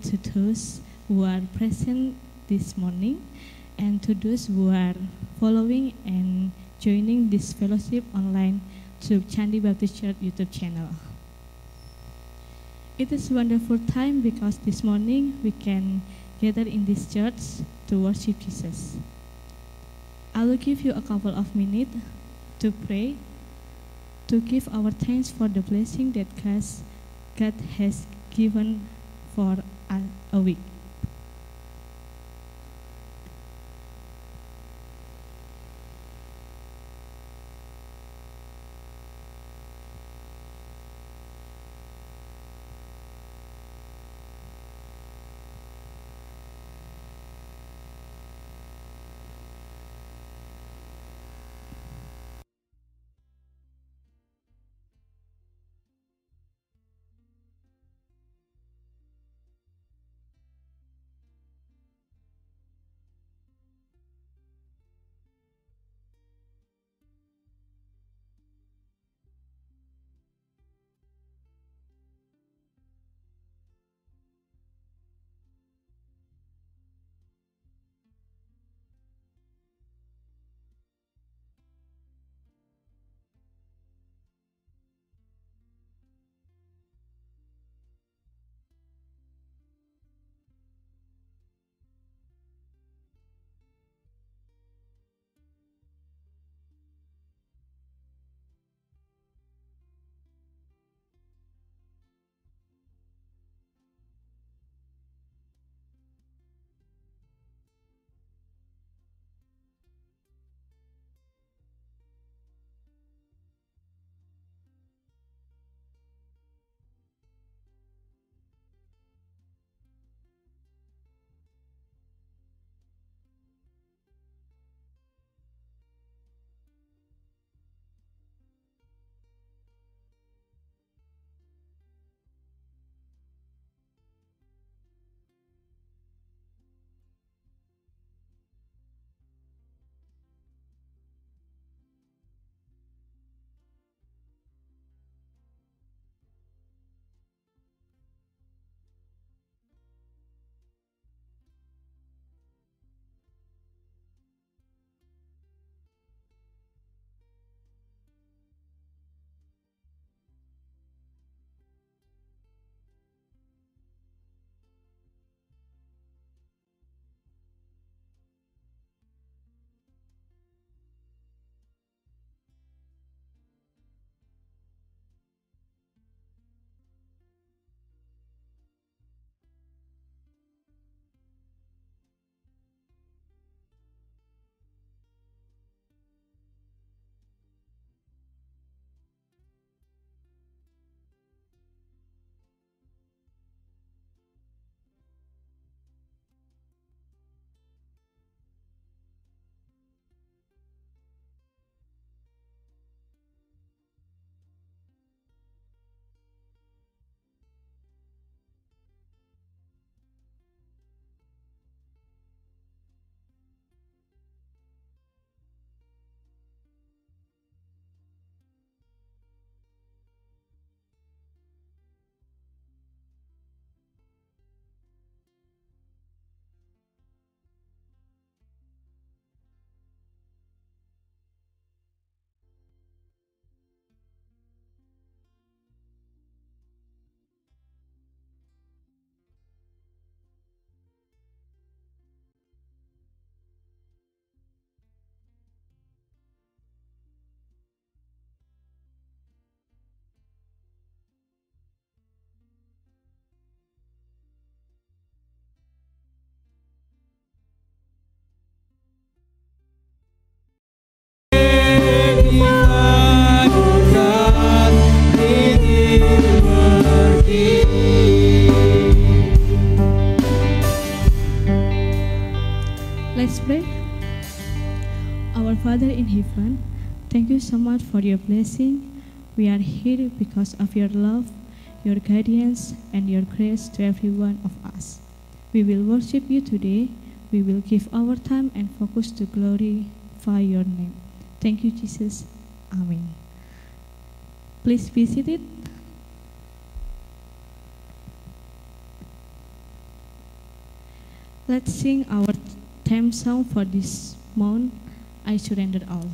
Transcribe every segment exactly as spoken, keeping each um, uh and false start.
to those who are present this morning and to those who are following and joining this fellowship online through Candi Baptist Church YouTube channel. It is a wonderful time because this morning we can gather in this church to worship Jesus. I will give you a couple of minutes to pray, to give our thanks for the blessing that God has given for a week. Let's pray. Our Father in heaven, thank you so much for your blessing. We are here because of your love, your guidance, and your grace to every one of us. We will worship you today. We will give our time and focus to glorify your name. Thank you, Jesus. Amen. Please be seated. Let's sing our theme song for this month, I Surrender All.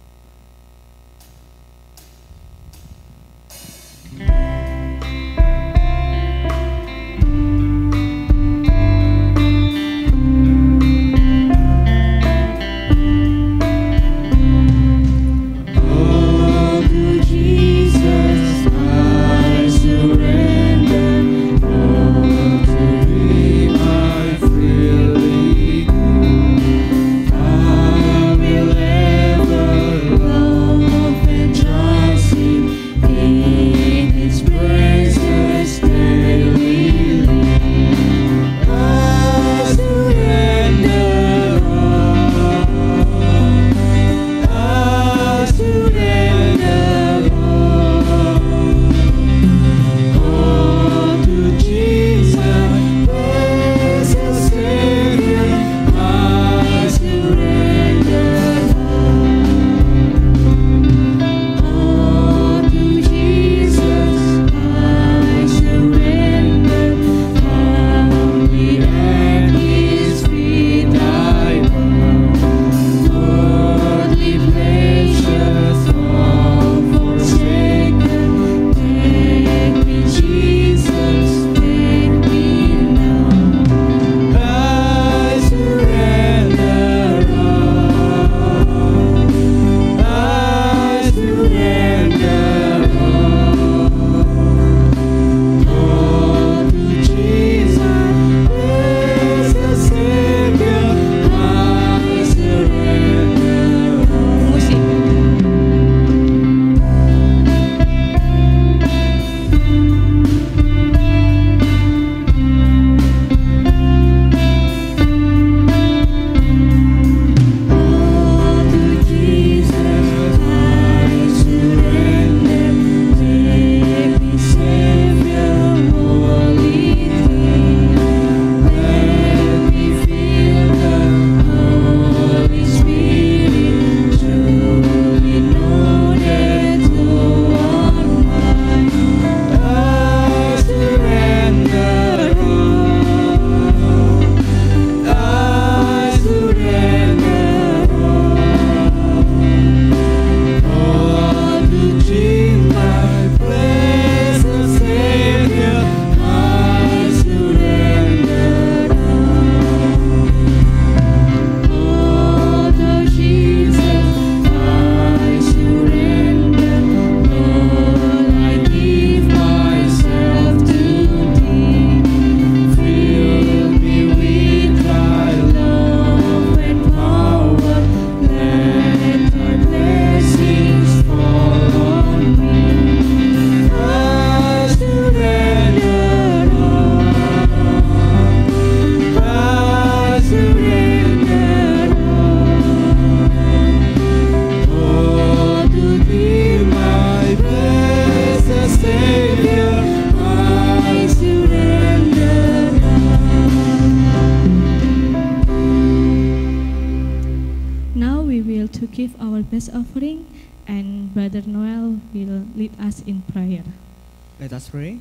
Offering, and Brother Noel will lead us in prayer. Let us pray.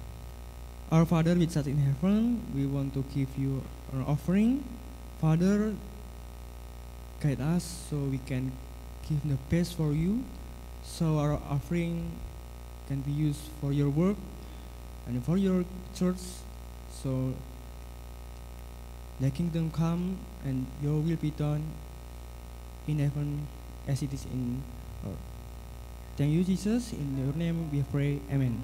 Our Father which art in heaven, we want to give you an offering. Father, guide us so we can give the best for you, so our offering can be used for your work and for your church, so the kingdom come and your will be done in heaven as it is in earth. Thank you, Jesus. In your name we pray. Amen.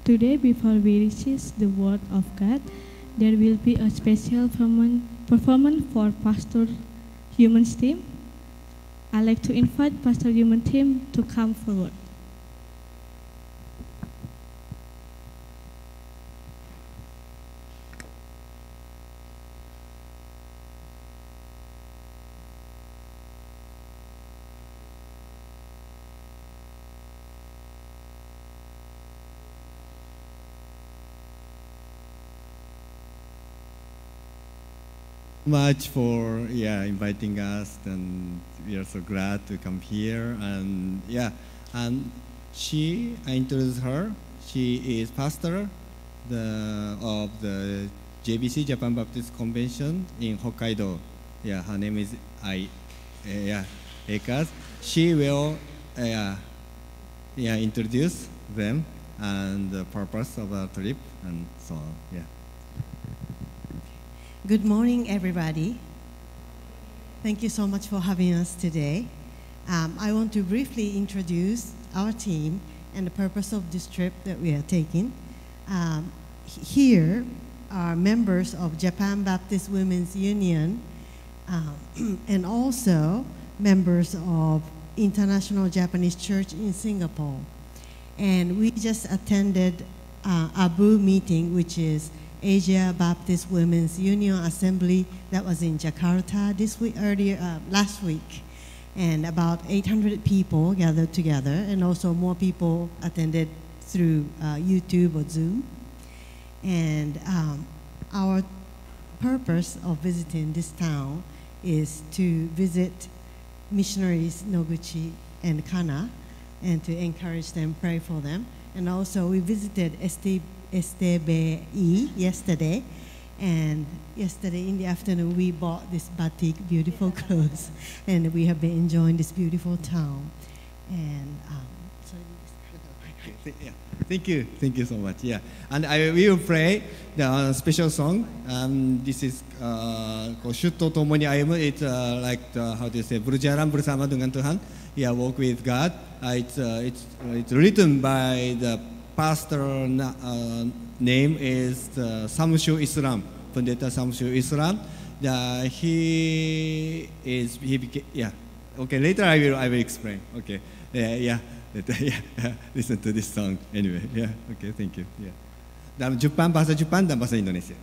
Today, before we receive the word of God, there will be a special performance for Pastor Human's team. I'd like to invite Pastor Human team to come forward. Much for yeah inviting us, and we are so glad to come here. And yeah, and she, I introduced her. She is pastor the of the J B C, Japan Baptist Convention in Hokkaido. Yeah, her name is I. Uh, yeah, Ekas. She will uh, yeah yeah introduce them and the purpose of our trip and so on. Yeah. Good morning, everybody. Thank you so much for having us today. Um, I want to briefly introduce our team and the purpose of this trip that we are taking. Um, here are members of Japan Baptist Women's Union um, and also members of International Japanese Church in Singapore. And we just attended uh, A B U meeting, which is Asia Baptist Women's Union Assembly, that was in Jakarta this week, earlier, uh, last week. And about eight hundred people gathered together, and also more people attended through uh, YouTube or Zoom. And um, our purpose of visiting this town is to visit missionaries Noguchi and Kana, and to encourage them, pray for them. And also we visited S T S T B E yesterday, and yesterday in the afternoon we bought this batik, beautiful clothes, and we have been enjoying this beautiful town. And um, so yeah. Thank you, thank you so much. Yeah, and I will play the uh, special song. Um, this is uh, called Shutto Tomoni Ayumu. It's uh, like the, how do you say, berjalan bersama dengan Tuhan. Yeah, walk with God. Uh, it's uh, it's uh, it's written by the pastor. Uh, name is uh, Samshu Islam, Pendeta Samshu Islam. Uh, he is he became, yeah. Okay, later I will I will explain. Okay, yeah, yeah. Yeah, listen to this song anyway. Yeah, okay, thank you. Yeah. Dalam Jepang, bahasa Jepang dan bahasa Indonesia.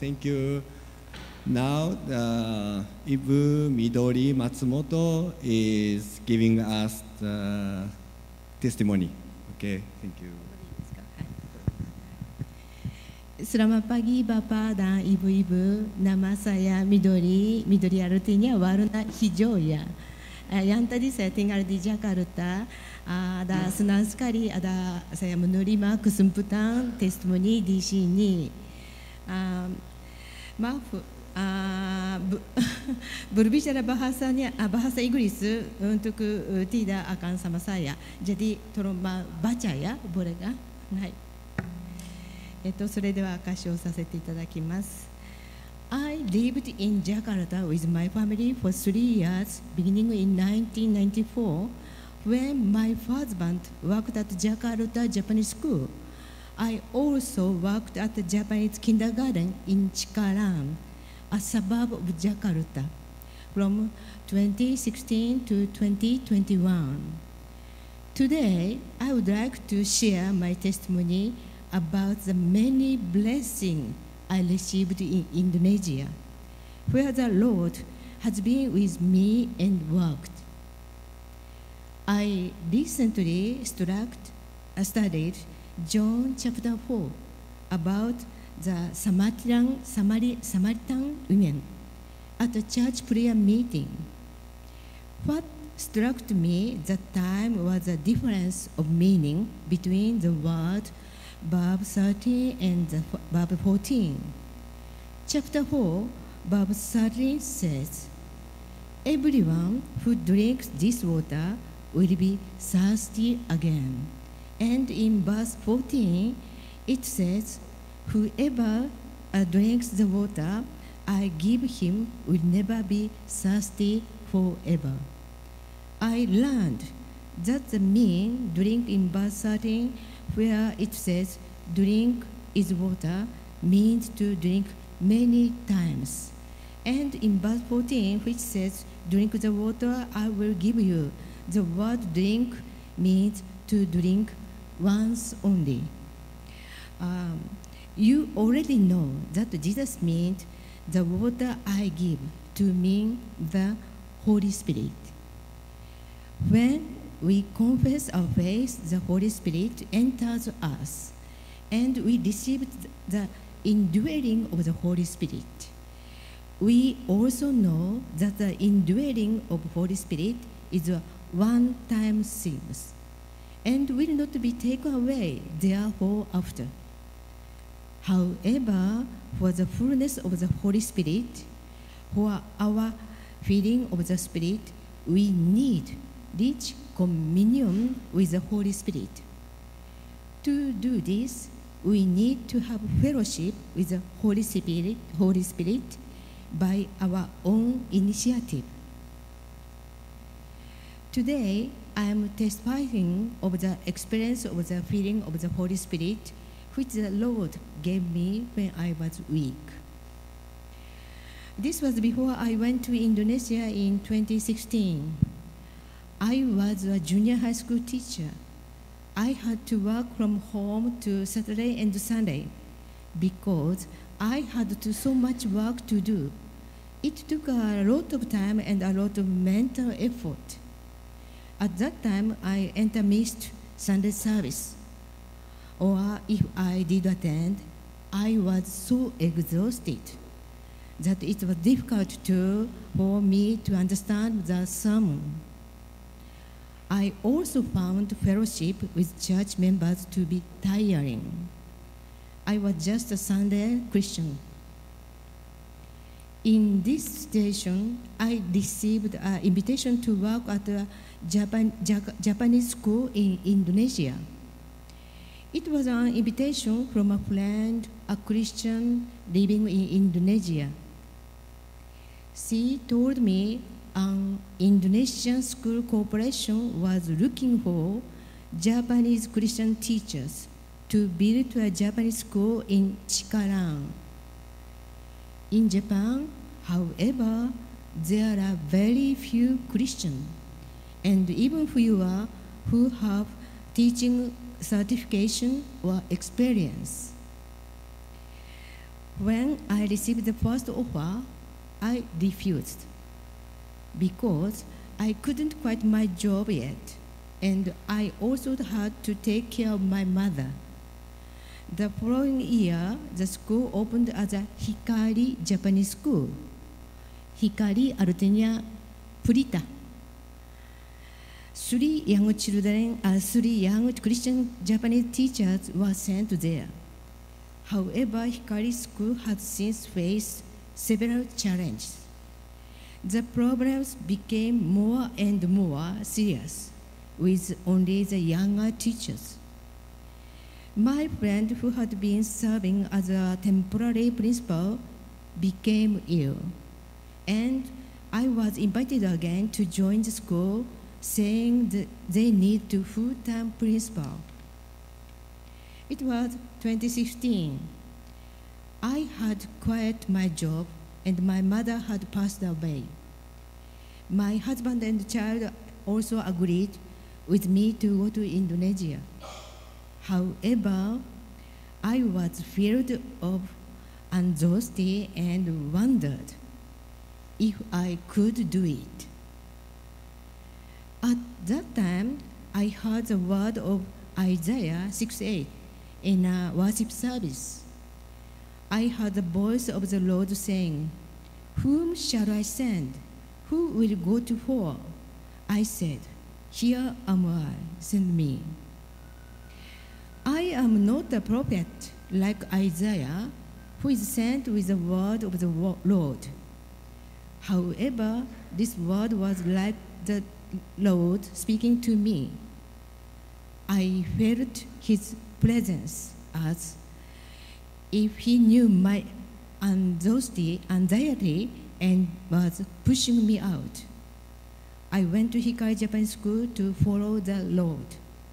thank you. Now, uh, Ibu Midori Matsumoto is giving us the testimony. Okay, thank you. Selamat pagi Bapak dan Ibu-ibu. Nama saya Midori. Midori artinya warna hijau ya. Yang tadi saya tinggal di Jakarta. Ada senang sekali ada saya menerima kesempatan testimoni di sini. Uh, maaf, uh, berbicara bahasanya bahasa Inggris untuk uh, tidak akan sama saya. Jadi tolong baca ya, boleh kah? Hai. えっと、それでは歌唱させていただきます。I lived in Jakarta with my family for three years, beginning in nineteen ninety-four, when my husband worked at Jakarta Japanese School. I also worked at the Japanese kindergarten in Cikarang, a suburb of Jakarta, from twenty sixteen to twenty twenty-one. Today, I would like to share my testimony about the many blessings I received in Indonesia, where the Lord has been with me and worked. I recently struck, uh, studied John chapter four about the Samaritan, Samari, Samaritan women at a church prayer meeting. What struck me that time was the difference of meaning between the word verb thirteen and the verb fourteen. Chapter four, verb thirteen says, everyone who drinks this water will be thirsty again. And in verse fourteen, it says, whoever uh, drinks the water I give him will never be thirsty forever. I learned that the mean drink in verse thirteen, where it says drink is water, means to drink many times. And in verse fourteen, which says drink the water I will give you, the word drink means to drink once only. Um, you already know that Jesus means the water I give to mean the Holy Spirit. When we confess our faith, the Holy Spirit enters us, and we receive the indwelling of the Holy Spirit. We also know that the indwelling of the Holy Spirit is a one-time thing, and will not be taken away therefore after. However, for the fullness of the Holy Spirit, for our filling of the Spirit, we need rich communion with the Holy Spirit. To do this, we need to have fellowship with the Holy Spirit, Holy Spirit by our own initiative. Today, I am testifying of the experience of the feeling of the Holy Spirit which the Lord gave me when I was weak. This was before I went to Indonesia in twenty sixteen. I was a junior high school teacher. I had to work from home to Saturday and Sunday because I had to so much work to do. It took a lot of time and a lot of mental effort. At that time, I entered missed Sunday service. Or if I did attend, I was so exhausted that it was difficult to, for me to understand the sermon. I also found fellowship with church members to be tiring. I was just a Sunday Christian. In this situation, I received an invitation to work at a Japan, Japanese school in Indonesia. It was an invitation from a friend, a Christian living in Indonesia. She told me an Indonesian school corporation was looking for Japanese Christian teachers to build a Japanese school in Cikarang. In Japan, however, there are very few Christians, and even fewer who have teaching certification or experience. When I received the first offer, I refused because I couldn't quit my job yet, and I also had to take care of my mother. The following year, the school opened as a Hikari Japanese school. Hikari artinya pelita. Three young children, uh, three young Christian Japanese teachers were sent there. However, Hikari School has since faced several challenges. The problems became more and more serious with only the younger teachers. My friend, who had been serving as a temporary principal, became ill, and I was invited again to join the school, saying that they need a full-time principal. It was twenty sixteen. I had quit my job, and my mother had passed away. My husband and child also agreed with me to go to Indonesia. However, I was filled of anxiety and wondered if I could do it. At that time, I heard the word of Isaiah six eight in a worship service. I heard the voice of the Lord saying, "Whom shall I send? Who will go to war?" I said, "Here am I, send me." I am not a prophet like Isaiah, who is sent with the word of the Lord. However, this word was like the Lord speaking to me. I felt his presence as if he knew my anxiety, anxiety and was pushing me out. I went to Hikari Japan School to follow the Lord.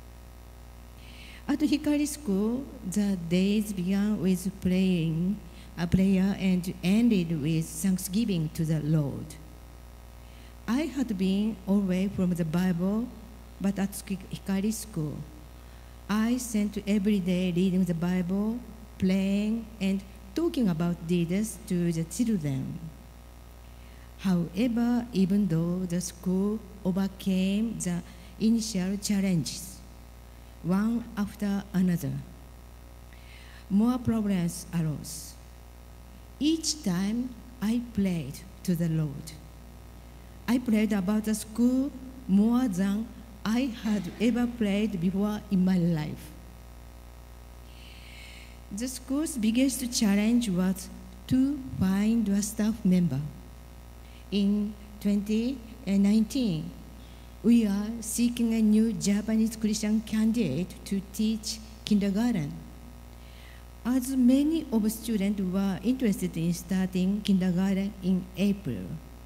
At Hikari School, the days began with praying, a prayer, and ended with thanksgiving to the Lord. I had been away from the Bible, but at Hikari School, I spent every day reading the Bible, praying, and talking about Jesus to the children. However, even though the school overcame the initial challenges, one after another, more problems arose. Each time I prayed to the Lord. I prayed about the school more than I had ever prayed before in my life. The school's biggest challenge was to find a staff member. In twenty nineteen, we are seeking a new Japanese Christian candidate to teach kindergarten. As many of students were interested in starting kindergarten in April.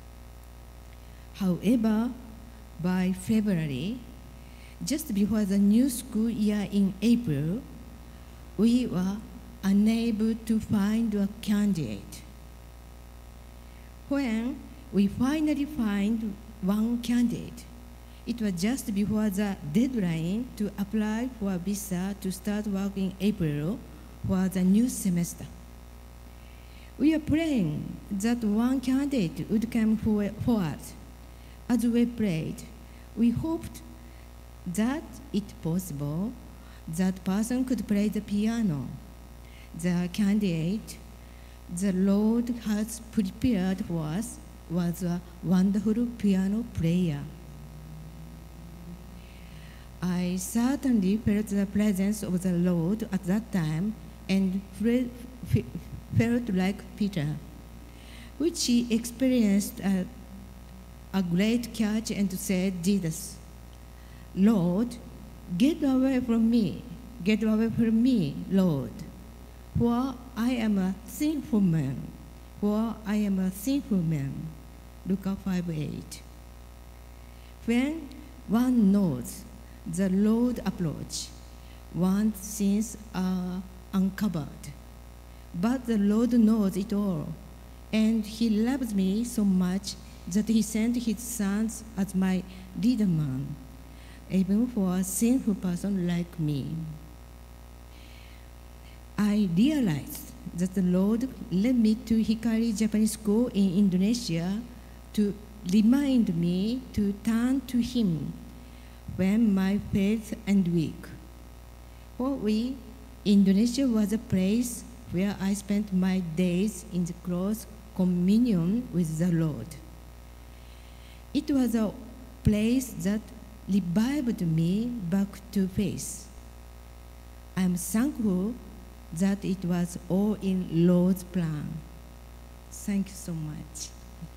However, by February, just before the new school year in April, we were unable to find a candidate. When we finally found one candidate, it was just before the deadline to apply for a visa to start work in April for the new semester. We are praying that one candidate would come forward. As we prayed, we hoped that it possible that person could play the piano. The candidate the Lord has prepared for us was a wonderful piano player. I certainly felt the presence of the Lord at that time and felt like Peter, which he experienced a, a great catch and said, Jesus, Lord, get away from me, get away from me, Lord, for I am a sinful man, for I am a sinful man. Luke five eight. When one knows the Lord approach, one's sins are uncovered. But the Lord knows it all, and He loves me so much that He sent His Son as my leader man, even for a sinful person like me. I realized that the Lord led me to Hikari Japanese School in Indonesia to remind me to turn to Him when my faith and weak. For we, Indonesia was a place where I spent my days in the close communion with the Lord. It was a place that revived me back to faith. I am thankful that it was all in Lord's plan. Thank you so much.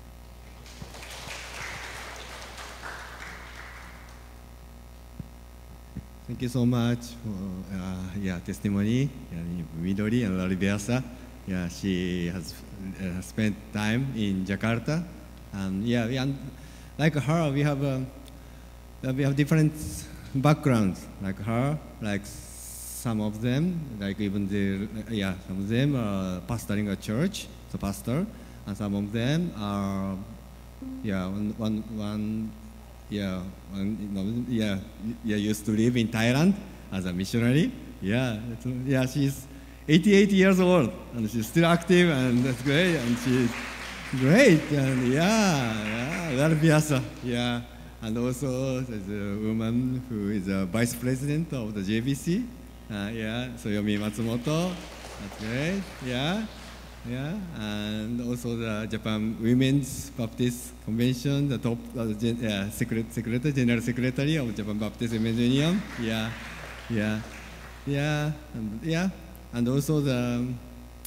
Thank you so much for uh, yeah testimony. Yeah, Midori and Laribiasa. Yeah, she has uh, spent time in Jakarta, and yeah, we, and like her, we have um, uh, we have different backgrounds. Like her, like some of them, like even the yeah, some of them are pastoring a church, the pastor, and some of them are yeah one one one. Yeah, one, you know, yeah, yeah. Used to live in Thailand as a missionary. Yeah, yeah. She's eighty-eight years old and she's still active, and that's great. And she's great. And yeah, yeah, luar biasa. Yeah, and also there's a woman who is a vice president of the J B C. Uh, yeah, Soyomi Matsumoto. That's great. Yeah. Yeah, and also the Japan Women's Baptist Convention, the top uh, gen, yeah, secret, secretary, general secretary of Japan Baptist Women's Union. Yeah, yeah, yeah, and, yeah, and also the um,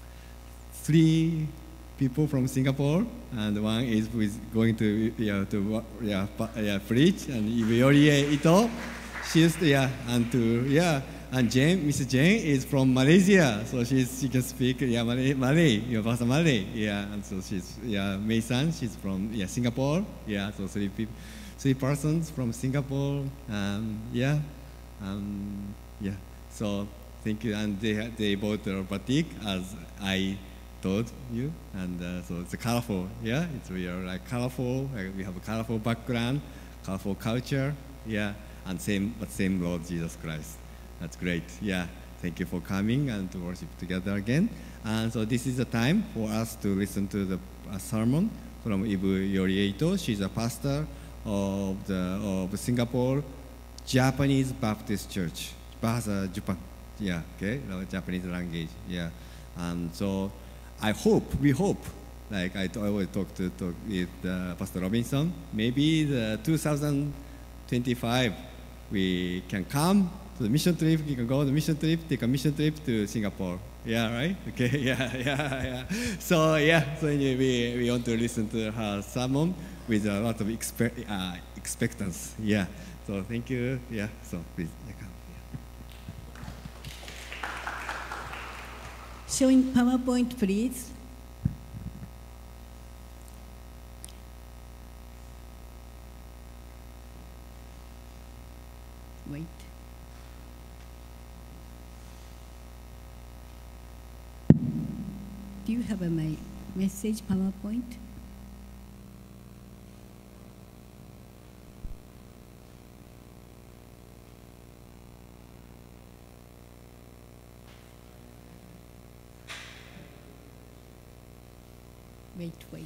three people from Singapore, and one is who is going to yeah to yeah, yeah preach, and Yorie Ito, she's yeah, and to yeah. And Jane, Missus Jane is from Malaysia, so she's, she can speak yeah, Malay, Malay, yeah, Bahasa Malay, yeah. And so she's yeah, Mei San, she's from yeah Singapore, yeah. So three people, three persons from Singapore, um, yeah, um, yeah. So thank you, and they they bought the batik as I told you, and uh, so it's colorful, yeah. It's we are like colorful, like we have a colorful background, colorful culture, yeah, and same but same Lord Jesus Christ. That's great. Yeah, thank you for coming and to worship together again. And so this is the time for us to listen to the uh, sermon from Ibu Yorieito. She's a pastor of the of Singapore Japanese Baptist Church. Bahasa Japan. Yeah, okay, Japanese language. Yeah, and so I hope, we hope, like I, I always talk to talk with uh, Pastor Robinson. Maybe the two thousand twenty-five we can come. The mission trip, you can go on the mission trip, take a mission trip to Singapore. Yeah, right? Okay, yeah, yeah, yeah. So, yeah, so anyway, we, we want to listen to her sermon with a lot of expe uh, expectance. Yeah, so thank you. Yeah, so please, yeah, come. Yeah. Showing PowerPoint, please. Wait. Do you have a, my message PowerPoint? Wait, wait.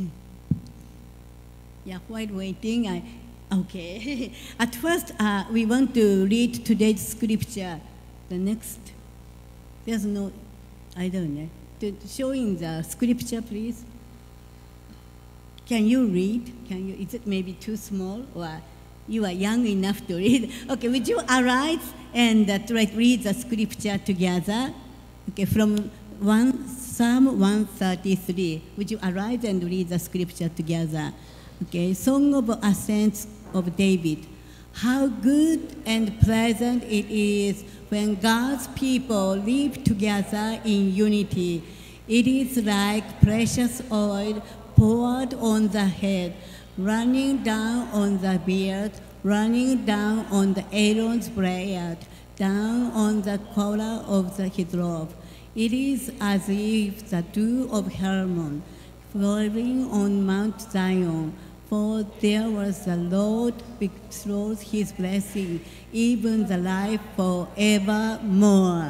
Yeah, while waiting, I, okay. At first, uh, we want to read today's scripture. The next, there's no, I don't know. To showing the scripture, please. Can you read? Can you? Is it maybe too small, or you are young enough to read? Okay, would you arise and uh, try to read the scripture together? Okay, from one Psalm one thirty-three. Would you arise and read the scripture together? Okay, Song of Ascents of David. How good and pleasant it is when God's people live together in unity. It is like precious oil poured on the head, running down on the beard, running down on the Aaron's beard, down on the collar of the, his robe. It is as if the dew of Hermon falling on Mount Zion. For there was the Lord bestows his blessing, even the life forevermore.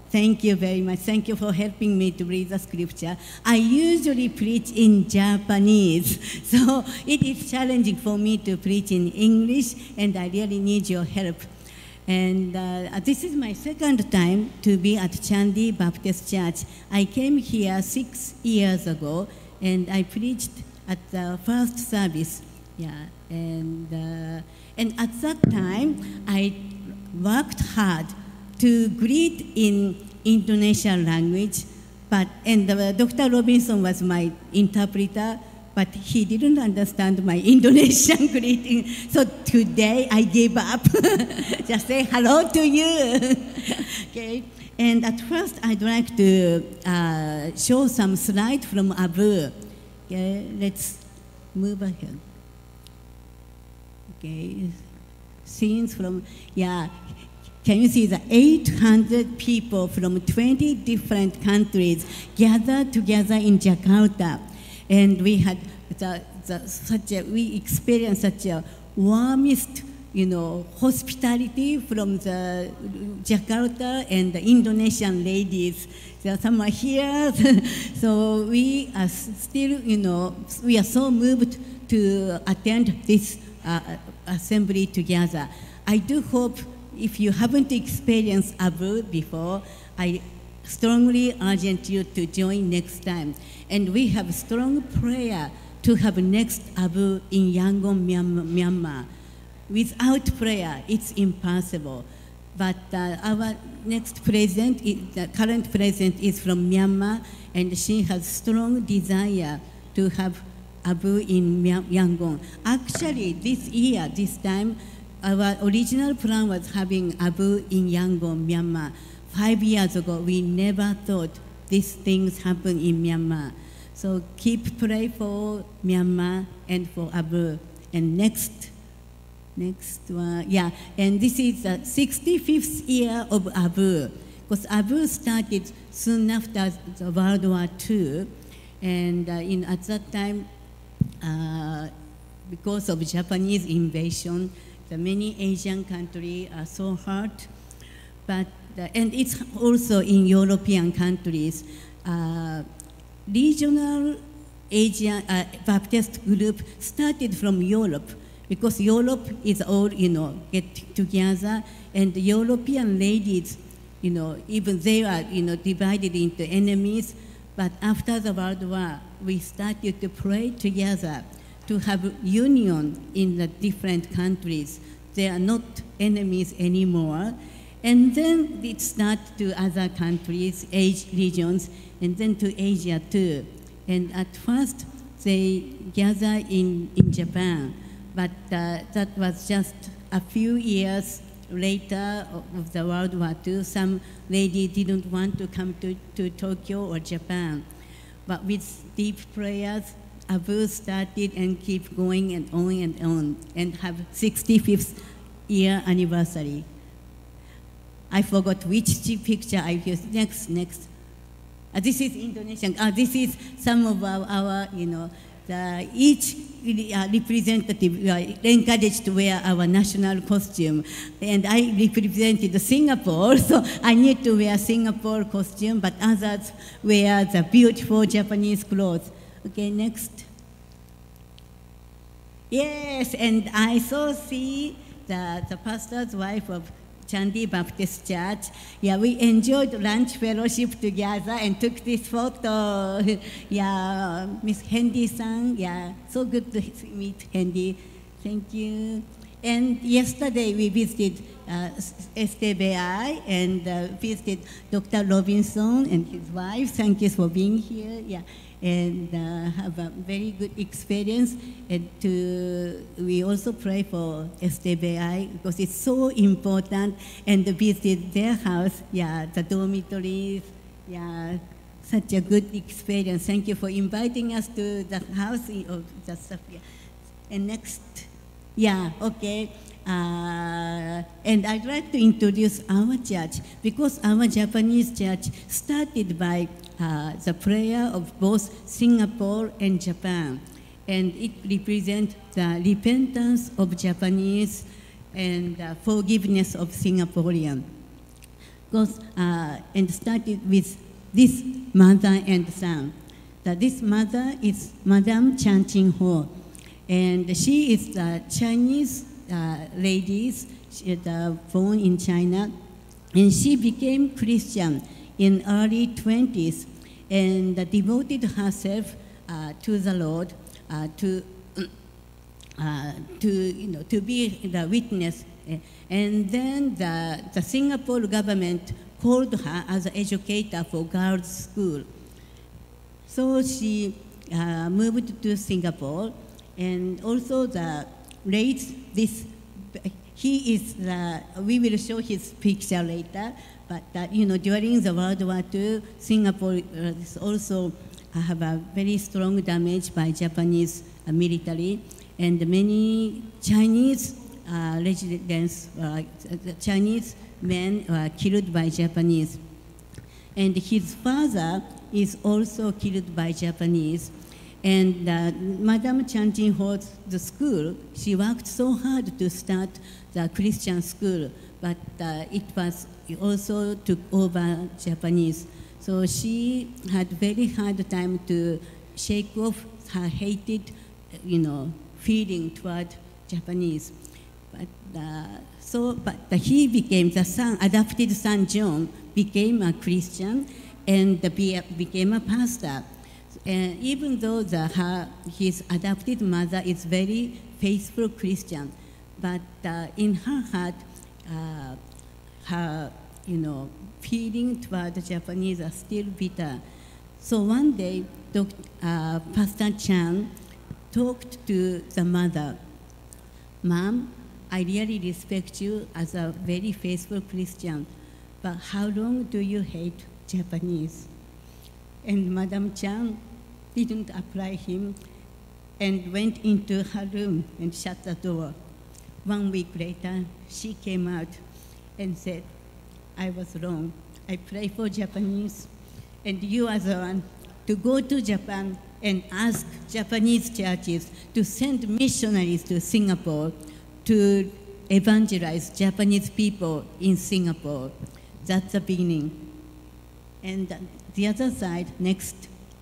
Thank you very much. Thank you for helping me to read the scripture. I usually preach in Japanese, so it is challenging for me to preach in English, and I really need your help. And uh, this is my second time to be at Chandi Baptist Church. I came here six years ago, and I preached at the first service. Yeah, and uh, and at that time, I worked hard to greet in Indonesian language, but and uh, Doctor Robinson was my interpreter, but he didn't understand my Indonesian greeting. So today I gave up. Just say hello to you. Okay. And at first I'd like to uh, show some slides from Abu. Okay. Let's move ahead. Okay. Scenes from, yeah. Can you see the eight hundred people from twenty different countries gathered together in Jakarta? And we had the, the, such a, we experienced such a warmest, you know, hospitality from the Jakarta and the Indonesian ladies. So some are here. So we are still, you know, we are so moved to attend this uh, assembly together. I do hope if you haven't experienced Abu before, I strongly urge you to join next time. And we have strong prayer to have next Abu in Yangon, Myanmar. Without prayer, it's impossible. But uh, our next president, the current president is from Myanmar, and she has strong desire to have Abu in Yangon. Actually, this year, this time, our original plan was having Abu in Yangon, Myanmar. Five years ago, we never thought these things happen in Myanmar. So keep pray for Myanmar and for Abu. And next, next one, yeah. And this is the sixty-fifth year of Abu, because Abu started soon after the World War Two, and uh, in at that time, uh, because of Japanese invasion, the many Asian countries are so hurt, but uh, and it's also in European countries. Uh, regional Asian uh, Baptist group started from Europe, because Europe is all, you know, get together, and the European ladies, you know, even they are, you know, divided into enemies. But after the World War, we started to pray together to have union in the different countries. They are not enemies anymore. And then it started to other countries, age regions, and then to Asia too. And at first, they gather in, in Japan, but uh, that was just a few years later of the World War Two. Some lady didn't want to come to, to Tokyo or Japan. But with deep prayers, Abu started and keep going and on and on, and have sixty-fifth year anniversary. I forgot which picture I used. Next, next. Uh, this is Indonesian. Uh, this is some of our, our you know, the, each uh, representative uh, encouraged to wear our national costume. And I represented Singapore, so I need to wear Singapore costume, but others wear the beautiful Japanese clothes. Okay, next. Yes, and I saw see the, the pastor's wife of Chandi Baptist Church. Yeah, we enjoyed lunch fellowship together and took this photo. Yeah, Miss Hendy-san. Yeah, so good to meet Hendy. Thank you. And yesterday we visited uh, S T B I and uh, visited Doctor Robinson and his wife. Thank you for being here. Yeah. And uh, have a very good experience. And to, we also pray for S T B I because it's so important, and visit their house, yeah, the dormitories, yeah, such a good experience. Thank you for inviting us to the house of the stuff. Yeah. And next, yeah, okay. Uh, and I'd like to introduce our church, because our Japanese church started by uh, the prayer of both Singapore and Japan. And it represents the repentance of Japanese and uh, forgiveness of Singaporean. goes, uh, and started with this mother and son. That this mother is Madame Chan Ching Ho, and she is the Chinese uh, lady, she is uh, born in China, and she became Christian in early twenties, and uh, devoted herself uh, to the Lord, uh, to uh, to you know to be the witness, and then the the Singapore government called her as an educator for girls' school. So she uh, moved to Singapore, and also the raised this. He is the. We will show his picture later. But uh, you know, during the World War Two, Singapore uh, is also uh, have a very strong damage by Japanese uh, military, and many Chinese uh, residents, uh, Chinese men were killed by Japanese. And his father is also killed by Japanese. And uh, Madame Chan Ching Ho's the school, she worked so hard to start the Christian school, but uh, it was also took over Japanese. So she had very hard time to shake off her hated, you know, feeling toward Japanese. But uh, so, but uh, he became the son, adopted son John became a Christian and be, became a pastor. And even though the, her, his adopted mother is very faithful Christian, but uh, in her heart, uh, her, you know, feeling toward the Japanese are still bitter. So one day, Doctor Uh, Pastor Chan talked to the mother, "Mom, I really respect you as a very faithful Christian, but how long do you hate Japanese?" And Madame Chan didn't apply him and went into her room and shut the door. One week later, she came out and said, "I was wrong. I pray for Japanese, and you are the one to go to Japan and ask Japanese churches to send missionaries to Singapore to evangelize Japanese people in Singapore." That's the beginning. And the other side, next.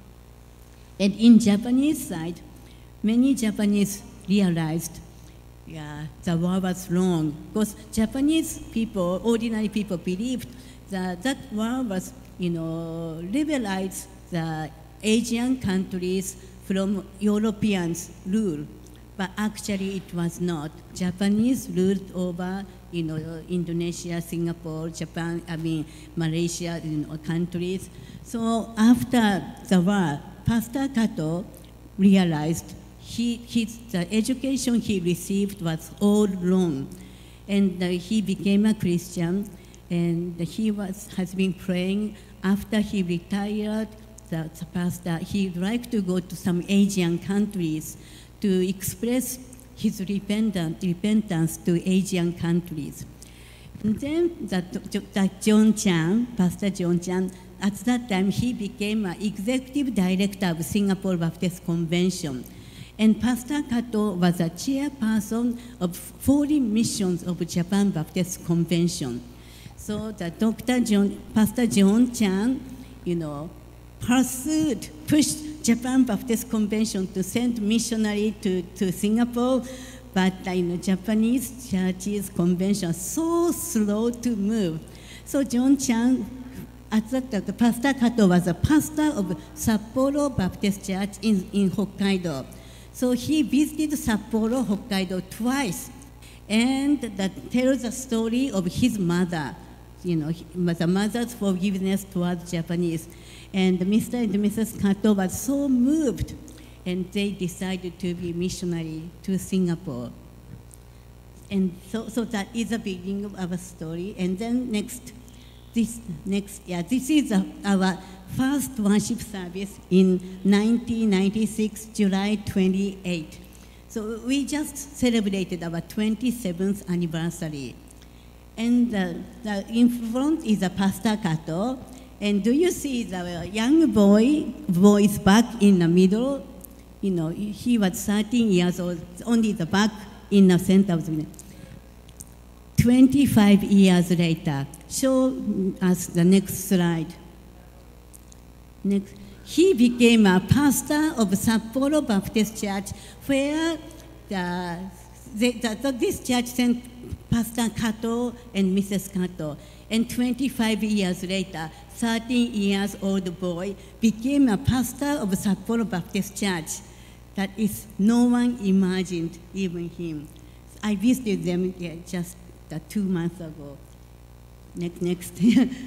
And in Japanese side, many Japanese realized, yeah, the war was wrong. Because Japanese people, ordinary people, believed that that war was, you know, liberalized the Asian countries from Europeans' rule. But actually it was not. Japanese ruled over, you know, Indonesia, Singapore, Japan, I mean, Malaysia, you know, countries. So after the war, Pastor Kato realized he, his, the education he received was all wrong. And uh, he became a Christian, and he was, has been praying. After he retired, the, the pastor, he'd like to go to some Asian countries to express his repentance, repentance to Asian countries. And then that, that John Chan, Pastor John Chan, at that time he became an executive director of Singapore Baptist Convention. And Pastor Kato was a chairperson of foreign missions of Japan Baptist Convention. So the Doctor John, Pastor John Chan, you know, pursued, pushed Japan Baptist Convention to send missionary to, to Singapore, but uh, you know, Japanese churches convention so slow to move. So John Chan, at that time, Pastor Kato was a pastor of Sapporo Baptist Church in, in Hokkaido. So he visited Sapporo, Hokkaido twice, and that tells the story of his mother, you know, the mother's forgiveness towards Japanese. And Mister and Missus Kato was so moved, and they decided to be missionary to Singapore. And so, so that is the beginning of our story. And then next, this next, yeah, this is a, our first worship service in nineteen ninety-six, July twenty-eighth. So we just celebrated our twenty-seventh anniversary. And uh, the, in front is a Pastor Kato. And do you see the young boy, boy's back in the middle? You know, he was thirteen years old, only the back in the center of the middle. twenty-five years later. Show us the next slide. Next. He became a pastor of Sapporo Baptist Church, where the, the, the, this church sent Pastor Kato and Missus Kato. And twenty-five years later, thirteen years old boy became a pastor of Sapporo Baptist Church. That is, no one imagined, even him. I visited them yeah, just uh, two months ago. Next, next.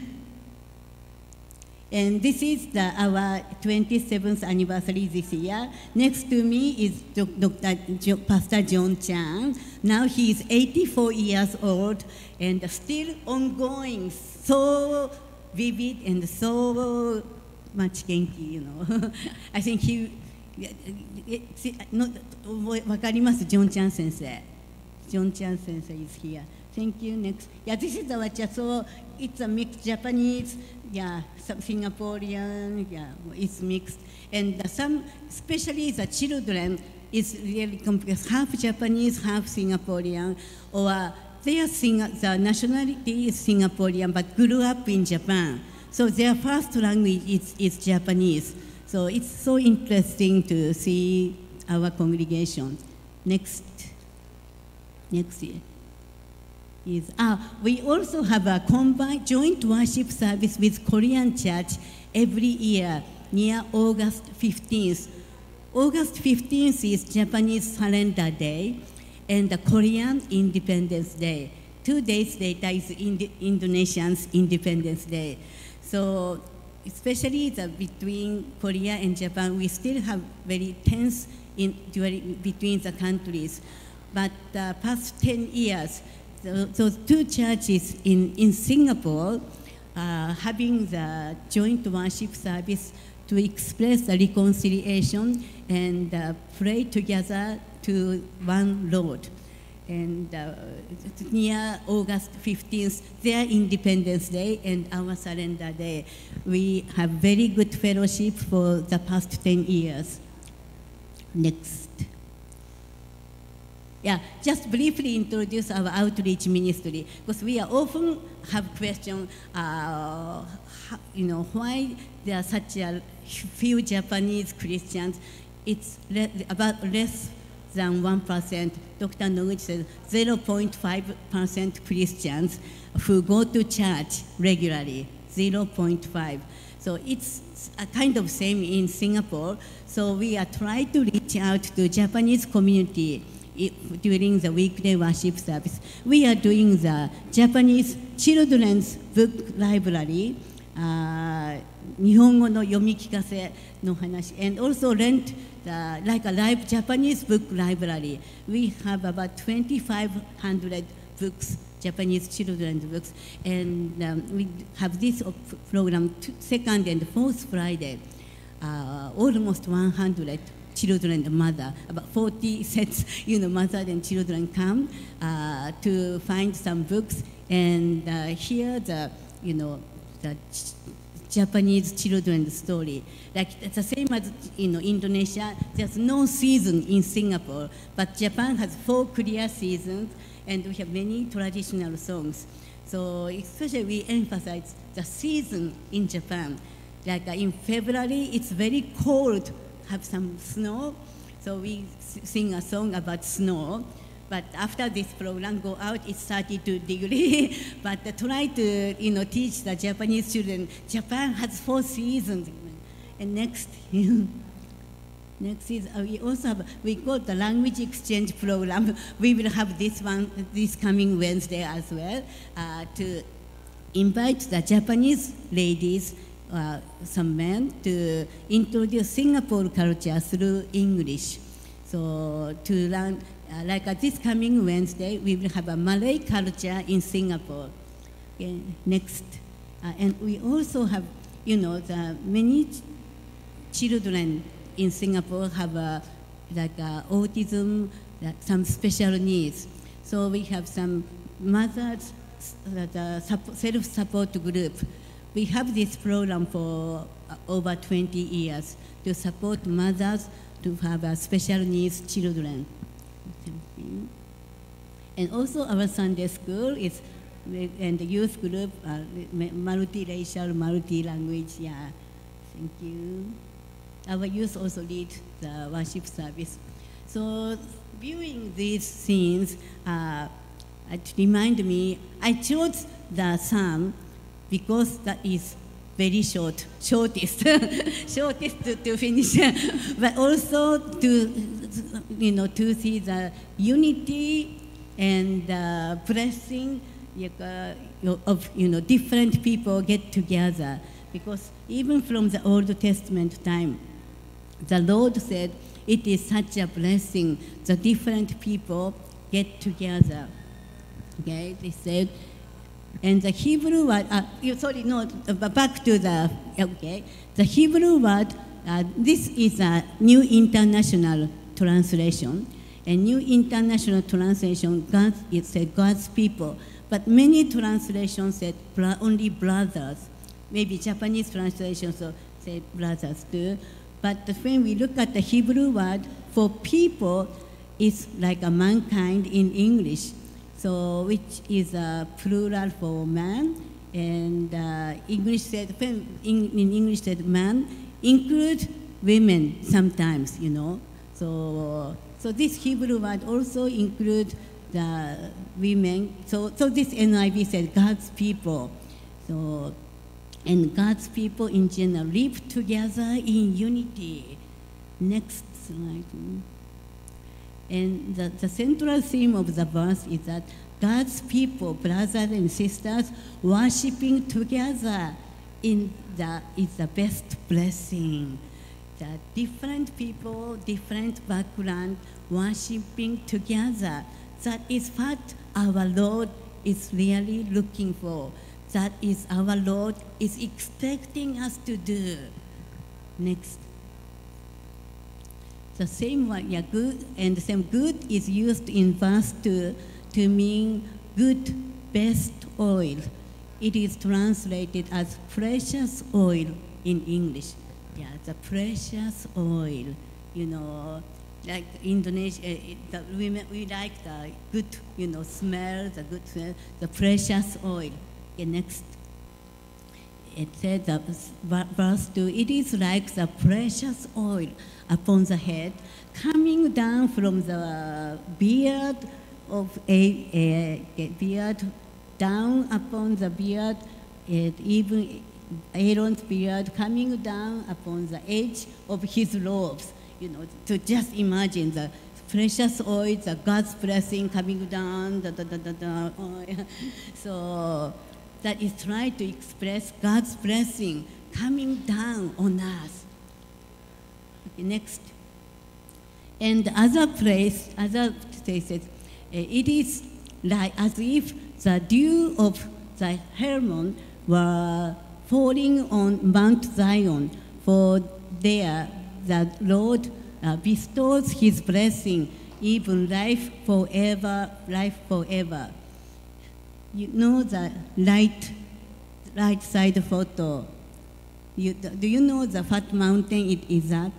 And this is the, our twenty-seventh anniversary this year. Next to me is Doctor Jo, Pastor John Chan. Now he is eighty-four years old and still ongoing, so vivid and so much genki, you know. I think he, no, わかります John Chan 先生. John Chan 先生 is here. Thank you. Next. Yeah, this is our church. So it's a mixed Japanese, yeah, some Singaporean, yeah, it's mixed. And uh, some, especially the children, is really complex, half Japanese, half Singaporean, or their sing the nationality is Singaporean, but grew up in Japan. So their first language is, is Japanese. So it's so interesting to see our congregation. Next. Next year. Is, ah, we also have a combined joint worship service with Korean church every year near August fifteenth. August fifteenth is Japanese Surrender Day and the Korean Independence Day. Two days later is Ind Indonesian's Independence Day. So especially the, between Korea and Japan, we still have very tense in, during, between the countries. But the past ten years, those two churches in, in Singapore uh, having the joint worship service to express the reconciliation and uh, pray together to one Lord. And uh, near August fifteenth, their Independence Day and our Surrender Day, we have very good fellowship for the past ten years. Next. Yeah, just briefly introduce our outreach ministry, because we are often have question, uh, you know, why there are such a few Japanese Christians. It's le about less than one percent. Doctor Noguchi says zero point five percent Christians who go to church regularly, zero point five. So it's a kind of same in Singapore. So we are trying to reach out to Japanese community during the weekday worship service. We are doing the Japanese children's book library, uh, 日本語の読み聞かせの話, and also rent the, like a live Japanese book library. We have about twenty-five hundred books, Japanese children's books, and um, we have this program second and fourth Friday, uh, almost one hundred children and mother, about forty sets, you know, mother and children come uh, to find some books and uh, hear the, you know, the ch Japanese children's story. Like it's the same as, you know, Indonesia. There's no season in Singapore, but Japan has four clear seasons, and we have many traditional songs. So especially we emphasize the season in Japan. Like uh, in February, it's very cold, have some snow, so we sing a song about snow. But after this program go out, it's thirty-two degrees. But uh, try to, you know, teach the Japanese children, Japan has four seasons. And next, next is, uh, we also have, we call the language exchange program. We will have this one, this coming Wednesday as well, uh, to invite the Japanese ladies, uh, some men, to introduce Singapore culture through English. So to learn, Uh, like uh, this coming Wednesday, we will have a Malay culture in Singapore. Okay, next. Uh, and we also have, you know, the many ch children in Singapore have uh, like uh, autism, like some special needs. So we have some mothers, uh, the self-support group. We have this program for uh, over twenty years to support mothers to have uh, special needs children. And also our Sunday school is, and the youth group, uh, multiracial, multi-language, yeah. Thank you. Our youth also lead the worship service. So viewing these scenes, uh, it reminded me, I chose the psalm because that is very short, shortest, shortest to, to finish, but also to, you know, to see the unity and uh, blessing of, you know, different people get together. Because even from the Old Testament time, the Lord said, it is such a blessing, the different people get together. Okay, they said, and the Hebrew word, uh, sorry, no, back to the, okay, the Hebrew word, uh, this is a New International Translation. A New International Translation, God, it said God's people, but many translations said bro- only brothers. Maybe Japanese translations so say brothers too. But when we look at the Hebrew word for people, it's like a mankind in English. So which is a plural for man, and uh, English said, in, in English said man, include women sometimes, you know. So, so this Hebrew word also include the women. So, so this N I V said God's people. So, and God's people in general live together in unity. Next slide. And the, the central theme of the verse is that God's people, brothers and sisters, worshiping together in the, is the best blessing. The different people, different background, worshiping together. That is what our Lord is really looking for. That is our Lord is expecting us to do. Next. The same word, yeah, good, and the same good is used in verse two to mean good, best oil. It is translated as precious oil in English. Yeah, the precious oil, you know, like Indonesia, uh, the women, we like the good, you know, smell, the good smell, the precious oil. Okay, next. It said, that verse two, it is like the precious oil upon the head, coming down from the beard of a, a, a beard, down upon the beard, and even Aaron's beard coming down upon the edge of his robes. You know, to just imagine the precious oil, the God's blessing coming down, da, da, da, da, da, oh, yeah. So that is trying to express God's blessing coming down on us. Okay, next. And other place, other places, it is like as if the dew of the Hermon were falling on Mount Zion, for there the Lord uh, bestows his blessing, even life forever, life forever. You know the right, right side photo. You, do you know the what mountain it is at?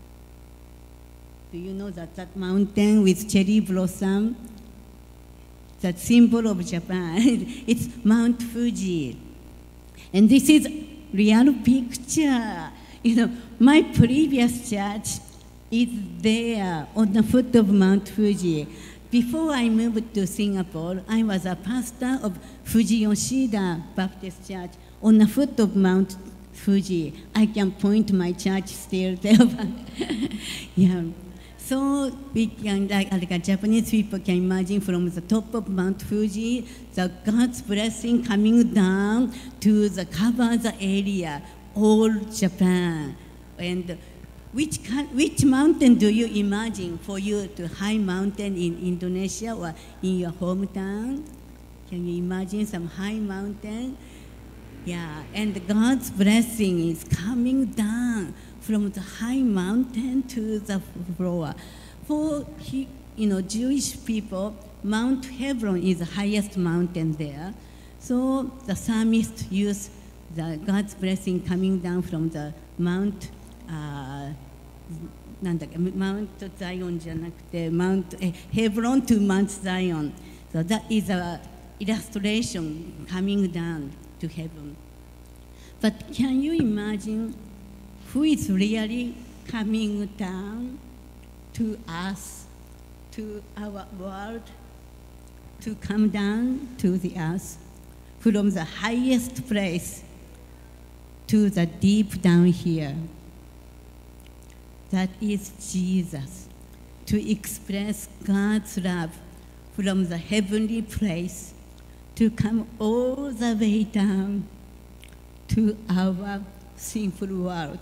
Do you know that that mountain with cherry blossom? That symbol of Japan. It's Mount Fuji. And this is real picture. You know, my previous church is there on the foot of Mount Fuji. Before I moved to Singapore, I was a pastor of Fuji Yoshida Baptist Church on the foot of Mount Fuji. I can point my church still there. Yeah. So we can, like, like Japanese people can imagine from the top of Mount Fuji, the God's blessing coming down to the cover the area, all Japan. And which, which mountain do you imagine for you to high mountain in Indonesia or in your hometown? Can you imagine some high mountain? Yeah, and God's blessing is coming down from the high mountain to the floor. For you know, Jewish people, Mount Hebron is the highest mountain there. So the psalmist used the God's blessing coming down from the Mount, uh, Mount Zion じゃなくて Mount Hebron to Mount Zion. So that is a illustration coming down to heaven. But can you imagine who is really coming down to us, to our world, to come down to the earth from the highest place to the deep down here? That is Jesus, to express God's love from the heavenly place to come all the way down to our sinful world.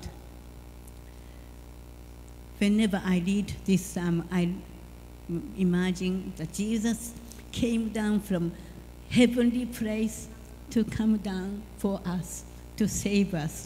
Whenever I read this psalm, I imagine that Jesus came down from heavenly place to come down for us, to save us.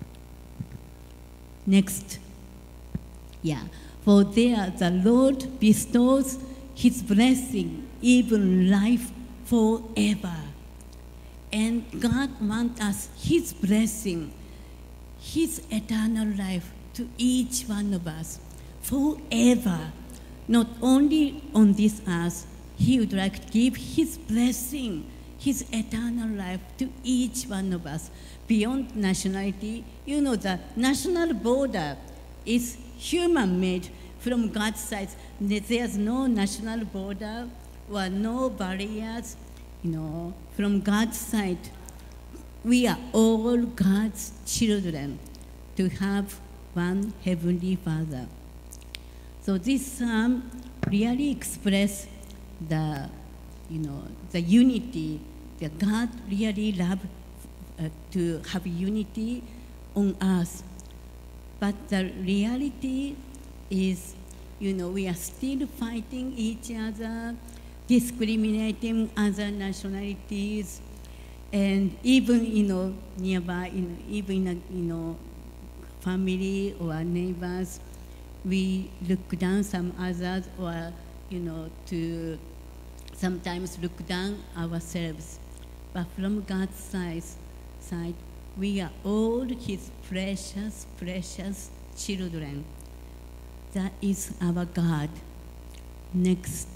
Next. Yeah. For there the Lord bestows his blessing, even life forever. And God wants us his blessing, his eternal life to each one of us forever. Not only on this earth, he would like to give his blessing, his eternal life to each one of us beyond nationality. You know, the national border is human-made from God's side. There's no national border or no barriers, you know, from God's side. We are all God's children to have one Heavenly Father. So this psalm really expresses the, you know, the unity that God really loves uh, to have unity on earth. But the reality is, you know, we are still fighting each other, discriminating other nationalities, and even, you know, nearby, you know, even, you know, family or neighbors, we look down some others, or, you know, to sometimes look down ourselves. But from God's side, side, we are all his precious, precious children. That is our God. Next.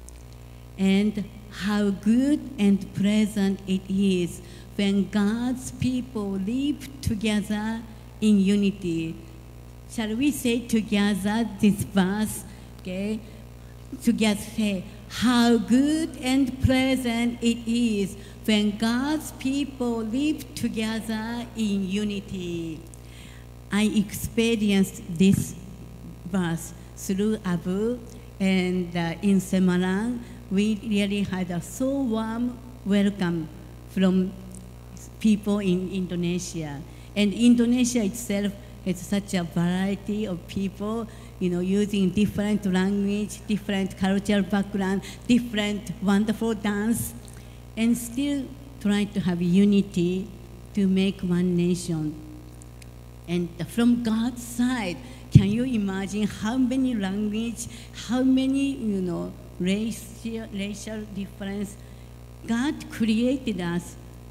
And how good and pleasant it is when God's people live together in unity. Shall we say together this verse? Okay. Together say, how good and pleasant it is when God's people live together in unity. I experienced this verse through Abu, and uh, in Semarang, we really had a so warm welcome from people in Indonesia. And Indonesia itself has such a variety of people, you know, using different language, different cultural background, different wonderful dance, and still trying to have unity to make one nation. And from God's side, can you imagine how many language, how many, you know, racial, racial difference? God created us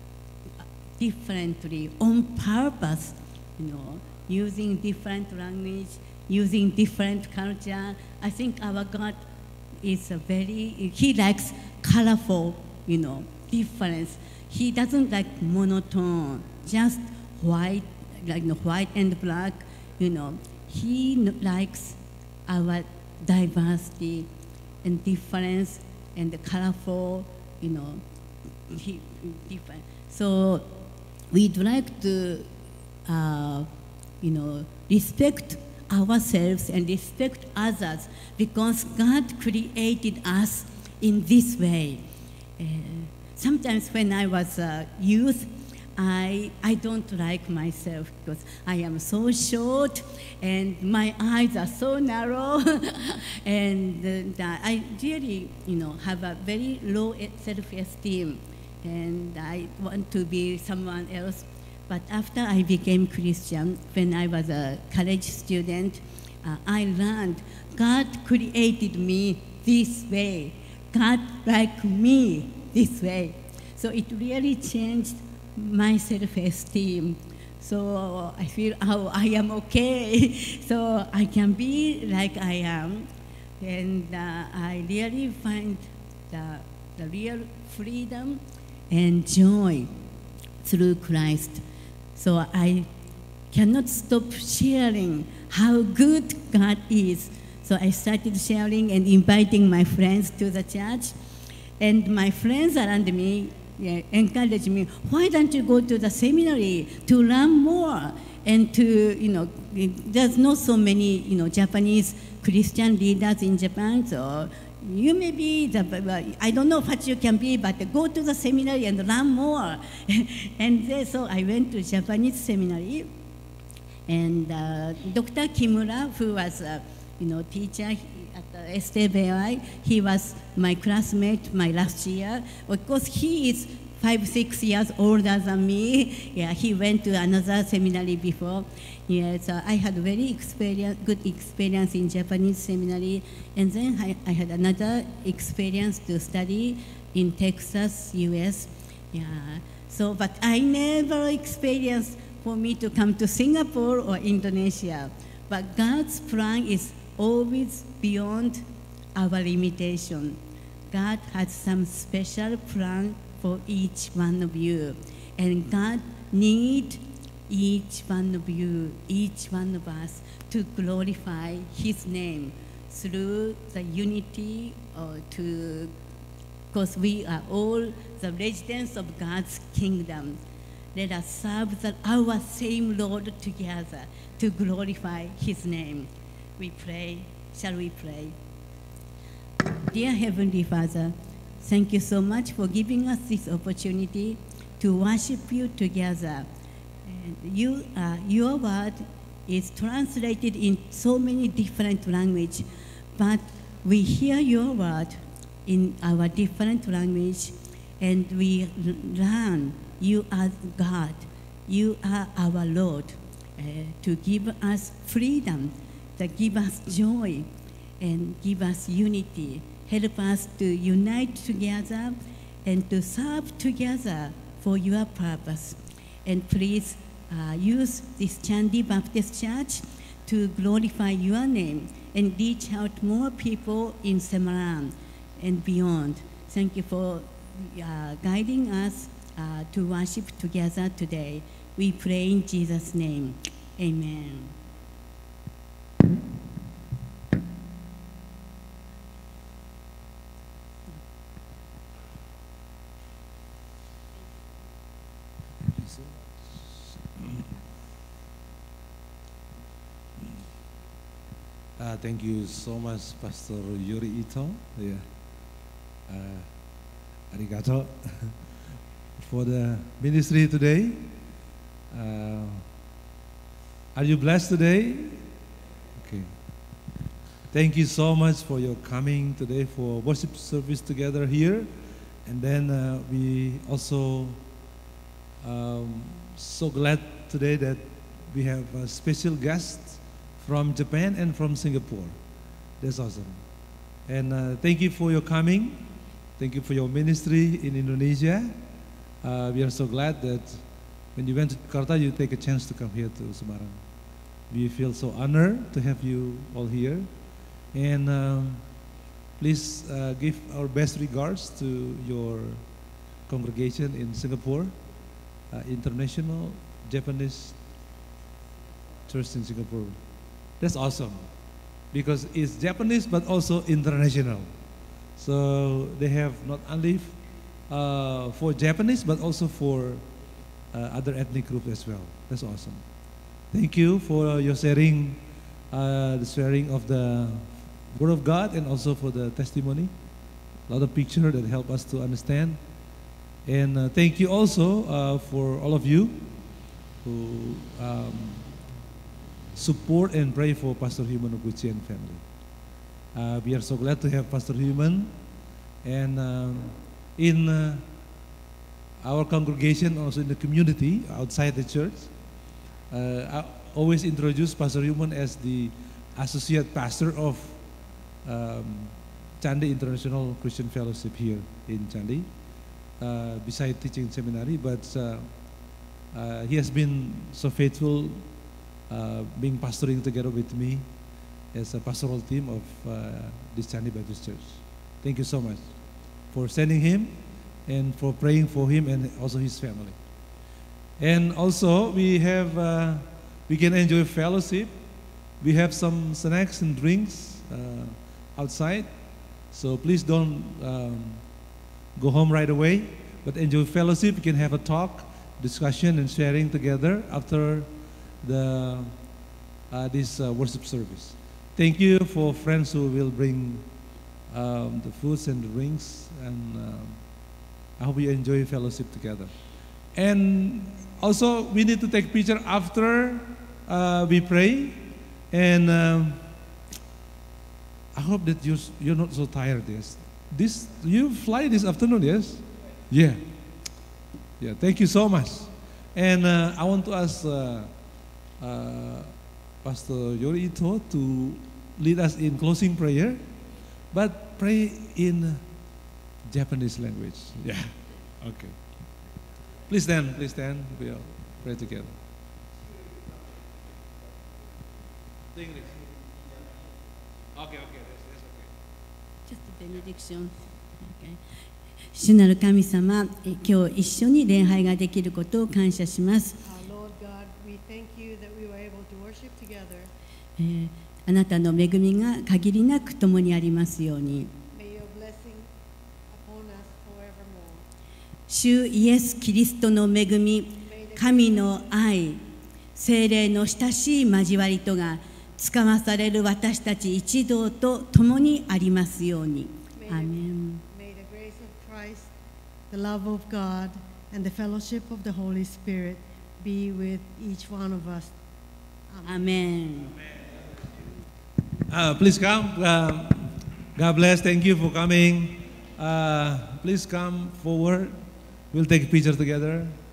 differently on purpose, you know, using different language, using different culture. I think our God is a very, he likes colorful, you know, difference. He doesn't like monotone, just white, like, you know, white and black, you know. He likes our diversity and difference and the colorful, you know, he, different. So we'd like to, uh, you know, respect ourselves and respect others because God created us in this way. Uh, sometimes when I was a youth, I, I don't like myself because I am so short and my eyes are so narrow and uh, I really, you know, have a very low self-esteem and I want to be someone else. But after I became Christian, when I was a college student, uh, I learned God created me this way. God liked me this way. So it really changed my self-esteem. So I feel, oh, I am okay. So I can be like I am. And uh, I really find the the real freedom and joy through Christ. So I cannot stop sharing how good God is. So I started sharing and inviting my friends to the church. And my friends around me yeah, encouraged me, why don't you go to the seminary to learn more? And to, you know, there's not so many, you know, Japanese Christian leaders in Japan, so you may be, the, I don't know what you can be, but go to the seminary and learn more. And then, so I went to Japanese seminary, and uh, Doctor Kimura, who was a, you know, teacher at the S T B I, he was my classmate my last year. Of course, he is five, six years older than me. Yeah, he went to another seminary before. Yeah, so I had very experience, good experience in Japanese seminary. And then I, I had another experience to study in Texas, U S. Yeah, so, but I never experienced for me to come to Singapore or Indonesia. But God's plan is always beyond our limitation. God has some special plan for each one of you. And God needs each one of you, each one of us, to glorify His name through the unity or to, because we are all the residents of God's kingdom. Let us serve the, our same Lord together to glorify His name. We pray. Shall we pray? Dear Heavenly Father, thank you so much for giving us this opportunity to worship you together. And you, uh, your word is translated in so many different languages, but we hear your word in our different language, and we learn you are God, you are our Lord, uh, to give us freedom, to give us joy, and give us unity. Help us to unite together and to serve together for your purpose. And please uh, use this Chandi Baptist Church to glorify your name and reach out more people in Semarang and beyond. Thank you for uh, guiding us uh, to worship together today. We pray in Jesus' name. Amen. Uh, thank you so much, Pastor Yuri Ito. Yeah. Uh, arigato for the ministry today. Uh, are you blessed today? Okay. Thank you so much for your coming today for worship service together here. And then uh, we also um, so glad today that we have a special guest from Japan and from Singapore. That's awesome. And uh, thank you for your coming. Thank you for your ministry in Indonesia. Uh, we are so glad that when you went to Jakarta, you take a chance to come here to Semarang. We feel so honored to have you all here. And um, please uh, give our best regards to your congregation in Singapore, uh, International Japanese Church in Singapore. That's awesome, because it's Japanese but also international. So they have not only uh, for Japanese but also for uh, other ethnic groups as well. That's awesome. Thank you for your sharing, uh, the sharing of the Word of God, and also for the testimony. A lot of pictures that help us to understand. And uh, thank you also uh, for all of you who um, support and pray for Pastor Human Oguchi and family. Uh, we are so glad to have Pastor Human, and um, in uh, our congregation, also in the community outside the church, uh, I always introduce Pastor Human as the associate pastor of um, Chandi International Christian Fellowship here in Chandi, uh, beside teaching seminary, but uh, uh, he has been so faithful Uh, being pastoring together with me as a pastoral team of uh, this Chandi Baptist Church. Thank you so much for sending him and for praying for him and also his family. And also we have, uh, we can enjoy fellowship. We have some snacks and drinks uh, outside. So please don't um, go home right away, but enjoy fellowship. You can have a talk, discussion, and sharing together after the uh, this uh, worship service. Thank you for friends who will bring um, the foods and the drinks, and um, I hope you enjoy fellowship together. And also, we need to take picture after uh, we pray, and um, I hope that you're, you're not so tired. Yes, this you fly this afternoon. Yes, yeah, yeah. Thank you so much. And uh, I want to ask uh, uh, Pastor Yori Ito to lead us in closing prayer, but pray in Japanese language. Yeah. Okay. Please stand. Please stand. We'll pray together. English. Okay. Okay. That's, that's okay. Just a benediction. Okay. 主なる神様、え今日一緒に礼拝ができることを感謝します。 Our Lord God, we thank you that we were able to worship together. えーあなたの恵みが限りなく共にありますように。 May your blessing upon us forevermore. 主イエス・キリストの恵み、神の愛、聖霊の親しい交わりとがつかまされる私たち一同と共にありますように。アーメン。 May the grace of Christ, the love of God, and the fellowship of the Holy Spirit be with each one of us. アーメン。 Uh, please come. Uh, God bless. Thank you for coming. Uh, please come forward. We'll take a picture together.